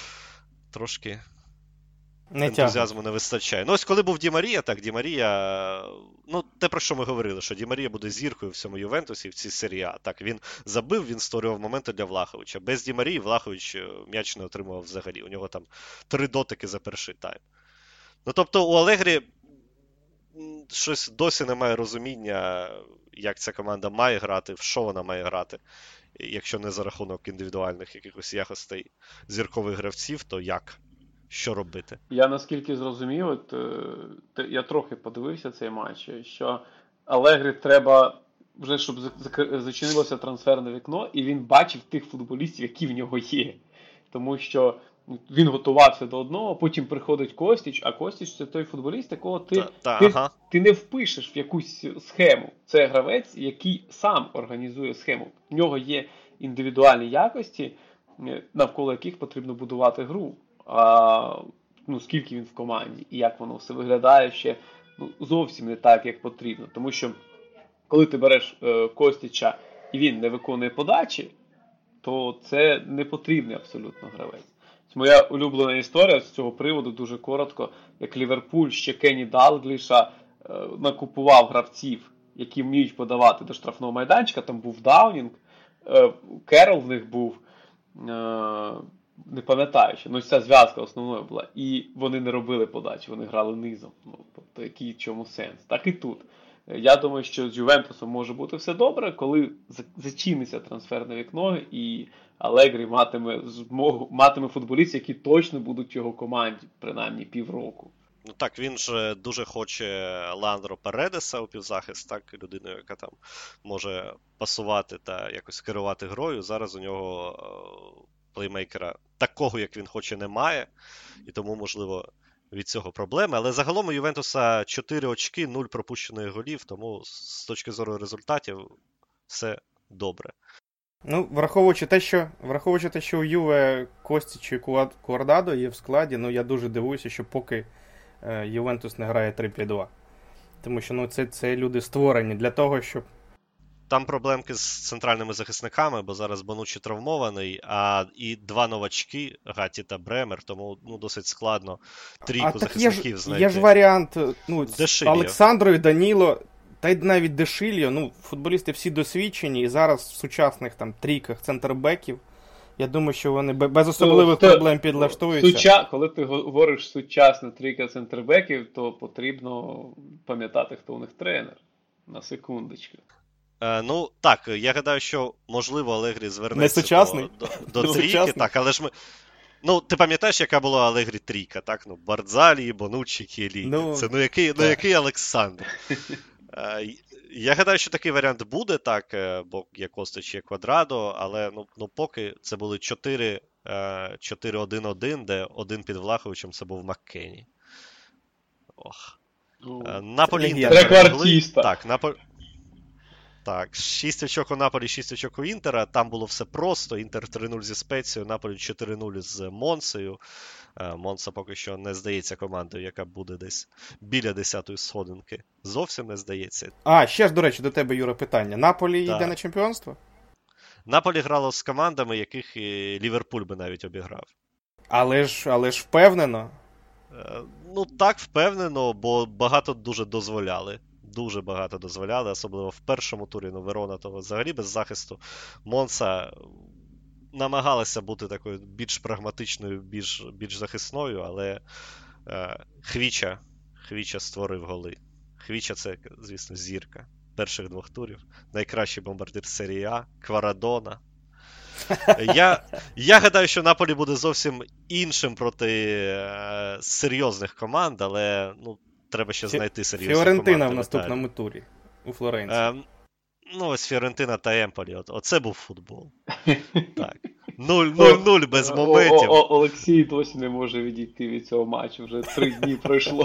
ентузіазму не вистачає. Ось коли був Ді Марія, Ді Марія, те, про що ми говорили, що Ді Марія буде зіркою в цьому Ювентусі, в цій серії А. Так, він забив, він створював моменти для Влаховича. Без Ді Марії Влахович м'яч не отримував взагалі. У нього там 3 дотики за перший тайм. Тобто у Алегрі щось досі немає розуміння, як ця команда має грати, в що вона має грати. Якщо не за рахунок індивідуальних якихось якостей зіркових гравців, то як? Що робити? Я наскільки зрозумів, я трохи подивився цей матч, що Алегрі треба вже, щоб зачинилося трансферне вікно, і він бачив тих футболістів, які в нього є. Тому що він готувався до одного, потім приходить Костіч, а Костіч – це той футболіст, якого ти не впишеш в якусь схему. Це гравець, який сам організує схему. В нього є індивідуальні якості, навколо яких потрібно будувати гру. Скільки він в команді і як воно все виглядає ще зовсім не так, як потрібно. Тому що коли ти береш Костіча і він не виконує подачі, то це не потрібний абсолютно гравець. Моя улюблена історія з цього приводу, дуже коротко, як Ліверпуль ще Кенні Далгліша накупував гравців, які вміють подавати до штрафного майданчика. Там був Даунінг, Керол в них був, не пам'ятаю, що ну ця зв'язка основною була. І вони не робили подачі, вони грали низом. Ну, тобто, який в чому сенс? Так і тут. Я думаю, що з Ювентусом може бути все добре, коли зачиниться трансферне вікно, і Алегрі матиме футболістів, які точно будуть в його команді, принаймні півроку. Ну так, він ж дуже хоче Леандро Паредеса у півзахист, так, людиною, яка там може пасувати та якось керувати грою. Зараз у нього плеймейкера такого, як він хоче, немає. І тому, можливо, від цього проблеми. Але загалом у Ювентуса 4 очки, 0 пропущених голів, тому з точки зору результатів все добре. Ну, враховуючи те, що у Юве Костіч і Куардадо є в складі, ну я дуже дивуюся, що поки Ювентус не грає 3-5-2. Тому що ну, це люди створені для того, щоб... Там проблемки з центральними захисниками, бо зараз Бонуччі травмований, і 2 новачки, Гаті та Бремер, тому ну, досить складно трійку захисників знайти. Є ж варіант, ну, Олександру і Даніло, та й навіть Дешильо, ну, футболісти всі досвідчені, і зараз в сучасних там трійках центрбеків, я думаю, що вони без особливих проблем підлаштуються. Коли ти говориш сучасна трійка центрбеків, то потрібно пам'ятати, хто у них тренер. На секундочку. Ну, так, я гадаю, що, можливо, Алегрі звернеться до трійки, так, але ж ми... Ну, ти пам'ятаєш, яка була Алегрі трійка, так? Ну, Бардзалі, Бонуччі, Кіеліні. Ну, це, який Олександр? Я гадаю, що такий варіант буде, так, бо є Костич, є Квадрадо, але, ну поки це були 4-1-1, де один під Влаховичем, це був Маккені. Ох. Наполі-Інтер. Рекордіста. Так, 6 очок у Наполі, 6 очок у Інтера. Там було все просто. Інтер 3-0 зі Спецією, Наполі 4-0 з Монсею. Монса поки що не здається командою, яка буде десь біля 10-ї сходинки. Зовсім не здається. Ще ж, до речі, до тебе, Юра, питання. Наполі йде на чемпіонство? Наполі грало з командами, яких і Ліверпуль би навіть обіграв. Але ж впевнено. Ну так, впевнено, бо багато дуже дозволяли. Дуже багато дозволяли, особливо в першому турі, ну, Верона того взагалі без захисту. Монса намагалася бути такою більш прагматичною, більш захисною, але Хвіча створив голи. Хвіча це, звісно, зірка перших 2 турів. Найкращий бомбардир серії А, Кварадона. Я гадаю, що Наполі буде зовсім іншим проти серйозних команд, але, ну, треба ще знайти серйозну команду. Фіорентина в наступному турі у Флоренції. Ну, ось Фіорентина та Емполі. Оце був футбол. Так. 0-0 без моментів. Олексій досі не може відійти від цього матчу. Вже 3 дні пройшло.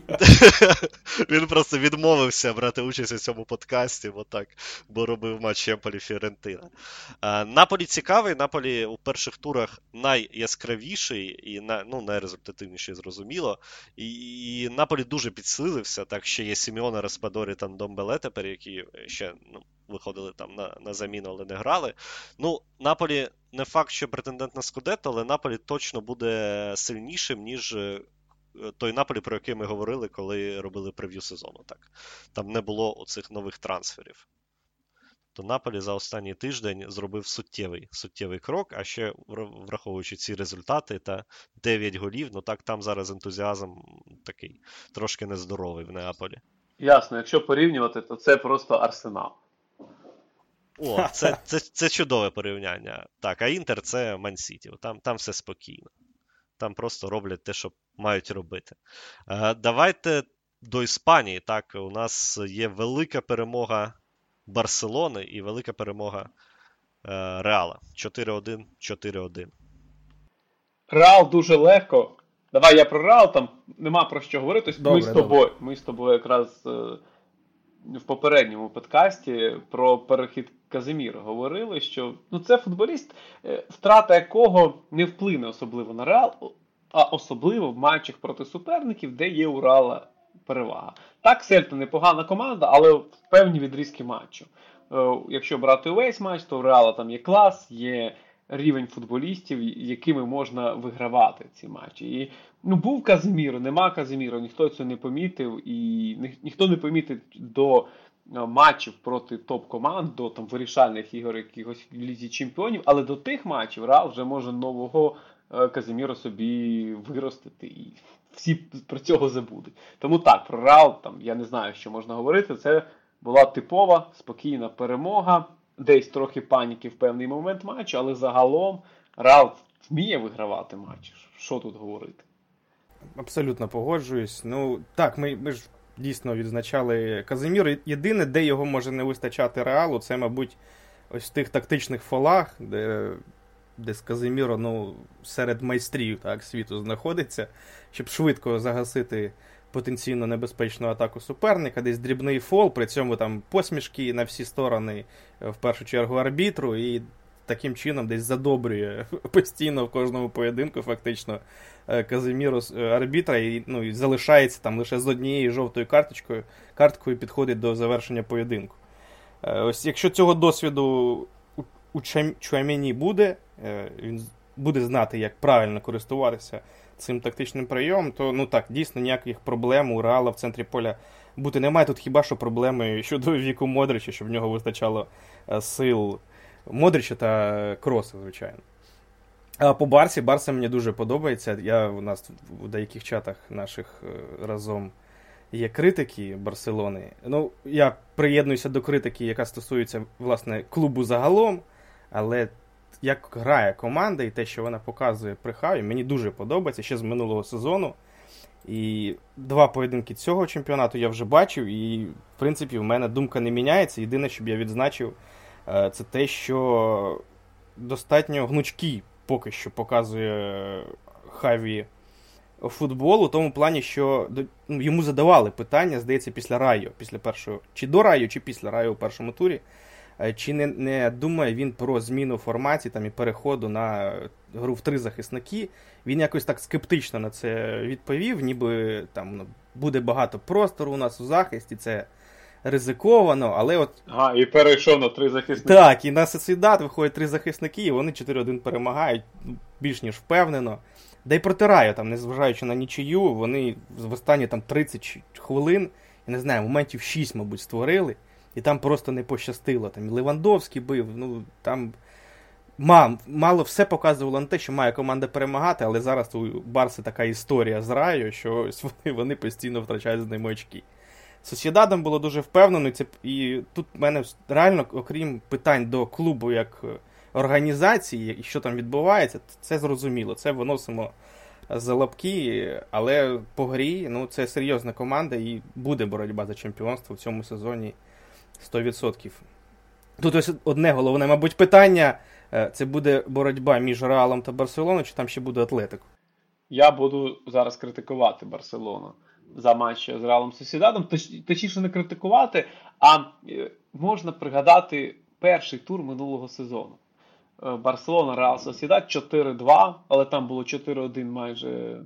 Він просто відмовився брати участь у цьому подкасті, бо робив матч Емполі-Фіорентина. Наполі цікавий. Наполі у перших турах найяскравіший і найрезультативніший, зрозуміло. І Наполі дуже підсилився. Так, ще є Сімеоне, Распадорі та Домбеле тепер, які ще виходили там на заміну, але не грали. Ну, Наполі не факт, що претендент на Скудетто, але Наполі точно буде сильнішим, ніж той Наполі, про який ми говорили, коли робили прев'ю сезону. Так. Там не було оцих нових трансферів. То Наполі за останній тиждень зробив суттєвий крок, а ще враховуючи ці результати та 9 голів, ну так там зараз ентузіазм такий трошки нездоровий в Неаполі. Ясно, якщо порівнювати, то це просто Арсенал. О, це чудове порівняння. Так, а Інтер це Ман-Сіті. Там все спокійно. Там просто роблять те, що мають робити. Давайте до Іспанії. Так, у нас є велика перемога Барселони і велика перемога Реала. 4-1, 4-1. Реал дуже легко. Давай я про Реал, там нема про що говорити. Добре. Ми з тобою якраз в попередньому подкасті про перехід Каземіра говорили, що це футболіст, втрата якого не вплине особливо на Реал, а особливо в матчах проти суперників, де є у Реала перевага. Так, Сельта непогана команда, але в певні відрізки матчу. Якщо брати увесь матч, то у Реала там є клас, є рівень футболістів, якими можна вигравати ці матчі. І був Каземіро, нема Каземіро, ніхто цього не помітив, і ніхто не помітив до матчів проти топ-команд, до там вирішальних ігор якихось в Лізі Чемпіонів, але до тих матчів Реал вже може нового Казіміро собі виростити, і всі про цього забудуть. Тому так, про Реал, там, я не знаю, що можна говорити, це була типова, спокійна перемога, десь трохи паніки в певний момент матчу, але загалом Реал вміє вигравати матчі. Що тут говорити? Абсолютно погоджуюсь. Ну, так, ми ж дійсно відзначали Казиміро. Єдине, де його може не вистачати Реалу, це, мабуть, ось в тих тактичних фолах, де з Казиміро, ну, серед майстрів так, світу знаходиться, щоб швидко загасити потенційно небезпечну атаку суперника, десь дрібний фол, при цьому там посмішки на всі сторони, в першу чергу арбітру, і таким чином десь задобрює постійно в кожному поєдинку фактично Казиміро арбітра, і, ну, і залишається там лише з однією жовтою карткою підходить до завершення поєдинку. Ось якщо цього досвіду у Чуамені буде, він буде знати, як правильно користуватися цим тактичним прийомом, то, ну так, дійсно ніяких проблем у Реала в центрі поля бути немає. Тут хіба що проблеми щодо віку Модрича, щоб в нього вистачало сил Модрича та Кроса, звичайно. А по Барса мені дуже подобається. У нас в деяких чатах наших разом є критики Барселони. Ну, я приєднуюся до критики, яка стосується, власне, клубу загалом, але як грає команда і те, що вона показує при Хаві, мені дуже подобається ще з минулого сезону. І 2 поєдинки цього чемпіонату я вже бачив, і, в принципі, в мене думка не міняється. Єдине, що б я відзначив, це те, що достатньо гнучкий поки що показує Хаві футбол, у тому плані, що йому задавали питання, здається, після Райо, після першого, чи до Райо, чи після Райо у першому турі, чи не думає він про зміну форматі там, і переходу на гру в 3 захисники. Він якось так скептично на це відповів, ніби там буде багато простору у нас у захисті, це ризиковано, але от... І перейшов на 3 захисники. Так, і на Сосідат виходять 3 захисники, і вони 4-1 перемагають, більш ніж впевнено. Да й проти Райо, там, незважаючи на нічию, вони в останні там 30 хвилин, я не знаю, моментів 6, мабуть, створили, і там просто не пощастило. Там і Левандовський бив, ну, там мало все показувало на те, що має команда перемагати, але зараз у Барси така історія з Райо, що вони постійно втрачають з ними очки. Сосєдадом було дуже впевнено, і тут в мене реально, окрім питань до клубу як організації, і що там відбувається, це зрозуміло, це виносимо за лапки, але по грі, ну, це серйозна команда і буде боротьба за чемпіонство в цьому сезоні 100%. Тут ось одне головне, мабуть, питання, це буде боротьба між Реалом та Барселоною, чи там ще буде Атлетико? Я буду зараз критикувати Барселону за матч з Реалом Сосідадом, точніше не критикувати, а можна пригадати перший тур минулого сезону. Барселона, Реал Сосідад 4-2, але там було 4-1 майже,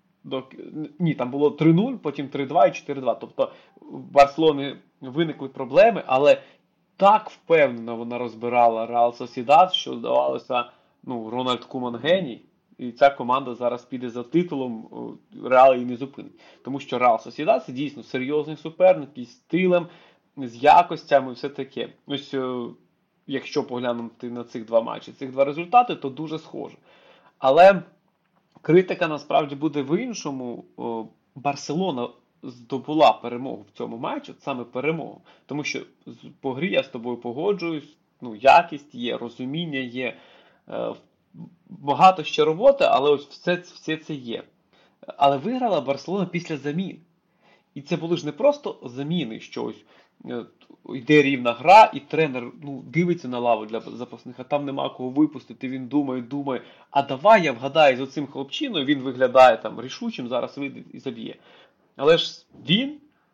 там було 3-0, потім 3-2 і 4-2. Тобто в Барселоні виникли проблеми, але так впевнено вона розбирала Реал Сосідад, що здавалося, Рональд Куман геній. І ця команда зараз піде за титулом, Реал її не зупинить. Тому що Реал Сосідад – це дійсно серйозний суперник із стилем, з якостями, все таке. Ось, якщо поглянути на цих 2 матчі, цих 2 результати, то дуже схоже. Але критика насправді буде в іншому. Барселона здобула перемогу в цьому матчі, саме перемогу. Тому що по грі я з тобою погоджуюсь, якість є, розуміння є, багато ще роботи, але ось все це є. Але виграла Барселона після замін. І це були ж не просто заміни, що ось йде рівна гра, і тренер дивиться на лаву для запасних, а там нема кого випустити, він думає, а давай я вгадаю з оцим хлопчиною, він виглядає там рішучим, зараз вийде і заб'є. Але ж він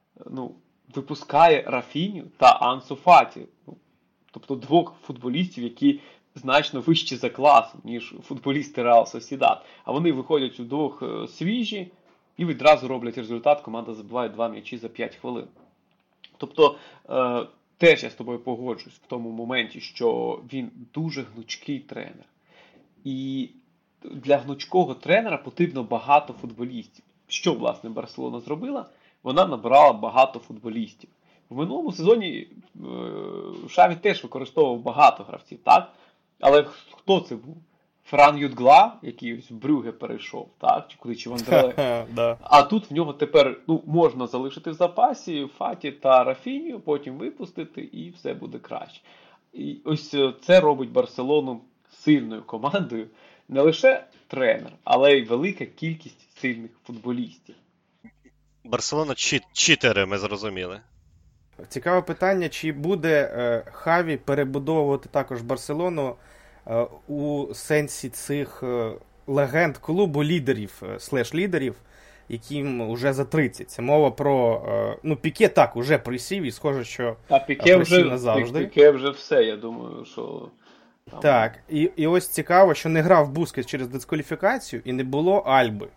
випускає Рафіню та Ансу Фаті. Тобто 2 футболістів, які значно вищі за класом, ніж футболісти Реал Сосідад. А вони виходять удвох свіжі і відразу роблять результат. Команда забиває 2 м'ячі за 5 хвилин. Тобто, теж я з тобою погоджуюсь в тому моменті, що він дуже гнучкий тренер. І для гнучкого тренера потрібно багато футболістів. Що, власне, Барселона зробила? Вона набрала багато футболістів. В минулому сезоні Шаві теж використовував багато гравців, так? Але хто це був? Фран Ютгла, який ось в Брюгге перейшов, так? Чи куди, чи Вандерле. Да. А тут в нього тепер можна залишити в запасі Фаті та Рафінію, потім випустити і все буде краще. І ось це робить Барселону сильною командою. Не лише тренер, але й велика кількість сильних футболістів. Барселона читери, ми зрозуміли. Цікаве питання, чи буде Хаві перебудовувати також Барселону у сенсі цих легенд клубу, лідерів, слеш-лідерів, яким вже за 30. Це мова про... Піке так, уже присів, і схоже, що присів назавжди. Піке вже все, я думаю, що... Там... Так, і ось цікаво, що не грав Бускетс через дискваліфікацію, і не було Альби.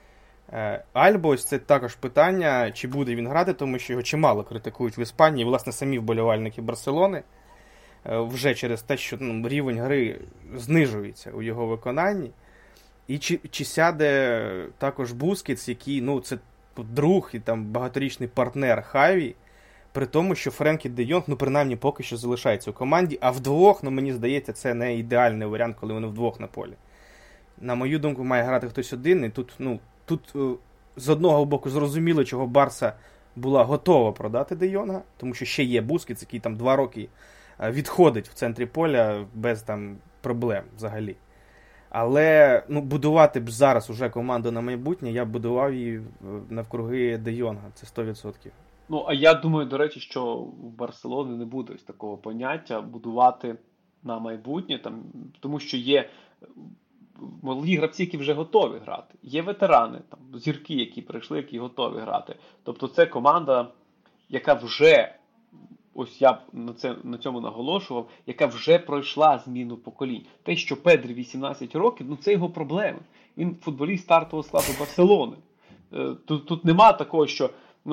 Альба, ось це також питання, чи буде він грати, тому що його чимало критикують в Іспанії, власне, самі вболівальники Барселони, вже через те, що рівень гри знижується у його виконанні. І чи сяде також Бускетс, який, це друг і там багаторічний партнер Хаві, при тому, що Френкі де Йонг, принаймні, поки що залишається у команді, а вдвох, мені здається, це не ідеальний варіант, коли вони вдвох на полі. На мою думку, має грати хтось один, і тут з одного боку зрозуміло, чого Барса була готова продати де Йонга, тому що ще є Бускетс, який там 2 роки відходить в центрі поля без там проблем взагалі. Але будувати б зараз уже команду на майбутнє, я б будував її навкруги де Йонга, це 100%. А я думаю, до речі, що в Барселоні не буде ось такого поняття будувати на майбутнє, тому що є молоді гравці, які вже готові грати. Є ветерани, зірки, які прийшли, які готові грати. Тобто це команда, яка вже, ось я на цьому наголошував, яка вже пройшла зміну поколінь. Те, що Педрі 18 років, це його проблеми. Він футболіст стартового складу Барселони. Тут нема такого, що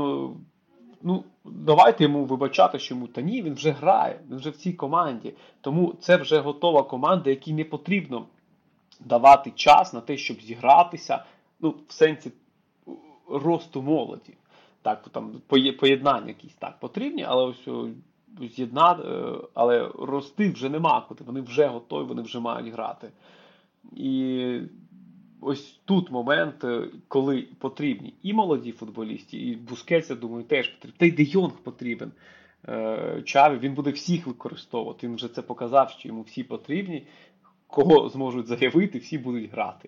давайте йому вибачати, що йому, ні, він вже грає, він вже в цій команді. Тому це вже готова команда, якій не потрібно давати час на те, щоб зігратися, в сенсі росту молоді. Так, там поєднання якісь так потрібні, але ось але рости вже нема куди, вони вже готові, вони вже мають грати. І ось тут момент, коли потрібні і молоді футболісти, і Бускетс, я думаю, теж потрібен. Та й де Йонг потрібен. Чаві, він буде всіх використовувати. Він вже це показав, що йому всі потрібні. Кого зможуть заявити, всі будуть грати.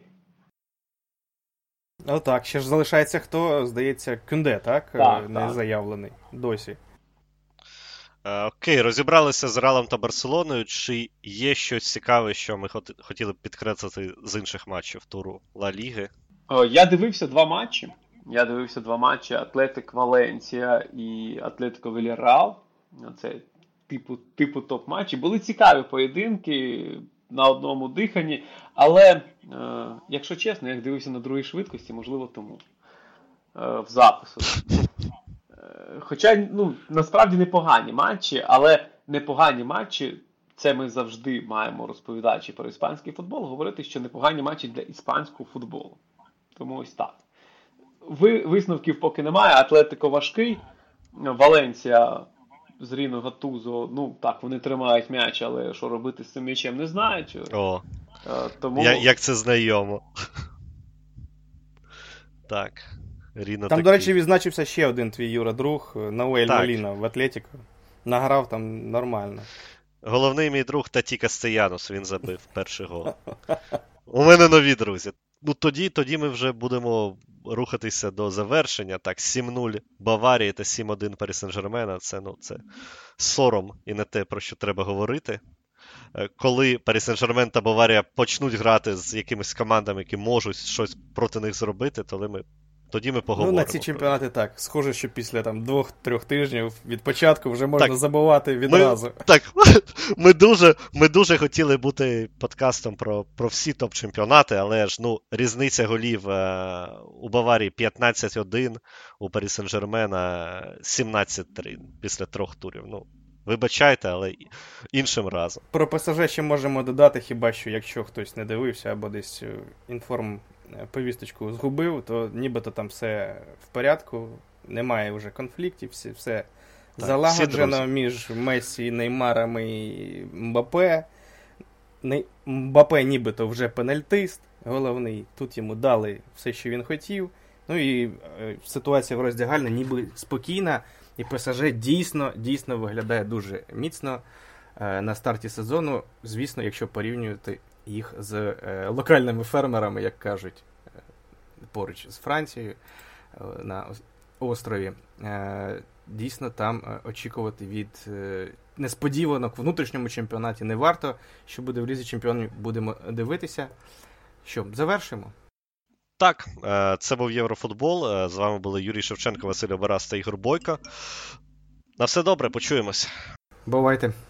Так, ще ж залишається хто, здається, Кюнде, так? Не заявлений досі. Окей, розібралися з Реалом та Барселоною. Чи є щось цікаве, що ми хотіли б підкреслити з інших матчів туру Ла Ліги? Я дивився 2 матчі. Атлетик Валенсія і Атлетико Вільярреал. Це типу топ-матчі. Були цікаві поєдинки на одному диханні. Але, якщо чесно, я дивився на другій швидкості, можливо, тому в запису. Хоча, насправді непогані матчі, але непогані матчі, це ми завжди маємо, розповідаючи про іспанський футбол, говорити, що непогані матчі для іспанського футболу. Тому ось так. Висновків поки немає, Атлетико важкий, Валенсія з Ріно Гатузо, так, вони тримають м'яч, але що робити з цим м'ячем не знають. Тому... Як це знайомо. Так. Ріно там, до речі, відзначився ще один твій, Юра, друг, Науель Моліна в Атлетико. Награв там нормально. Головний мій друг Таті Кастеянос, він забив перший гол. У мене нові друзі. Тоді ми вже будемо рухатися до завершення. Так, 7-0 Баварії та 7-1 Парі Сен-Жермена. Це сором і не те, про що треба говорити. Коли Парі Сен-Жермен та Баварія почнуть грати з якимись командами, які можуть щось проти них зробити, тоді ми поговоримо. На ці чемпіонати так. Схоже, що після 2-3 тижнів від початку вже можна забувати відразу. Ми дуже хотіли бути подкастом про всі топ-чемпіонати, але ж різниця голів у Баварії 15-1, у Парі Сен-Жермена 17-3 після 3 турів. Вибачайте, але іншим разом. Про ПСЖ ще можемо додати, хіба що, якщо хтось не дивився або десь повісточку згубив, то нібито там все в порядку, немає вже конфліктів, все Залагоджено між Месі, Неймаром і Мбаппе. Мбаппе нібито вже пенальтист головний. Тут йому дали все, що він хотів. Ну і ситуація в роздягальні ніби спокійна. І ПСЖ дійсно виглядає дуже міцно на старті сезону. Звісно, якщо порівнювати їх з локальними фермерами, як кажуть, поруч з Францією на острові. Дійсно, там очікувати від несподіванок в внутрішньому чемпіонаті не варто. Що буде в Лізі Чемпіонів, будемо дивитися. Що, завершимо? Так, це був Єврофутбол. З вами були Юрій Шевченко, Василь Обарас та Ігор Бойко. На все добре, почуємось. Бувайте.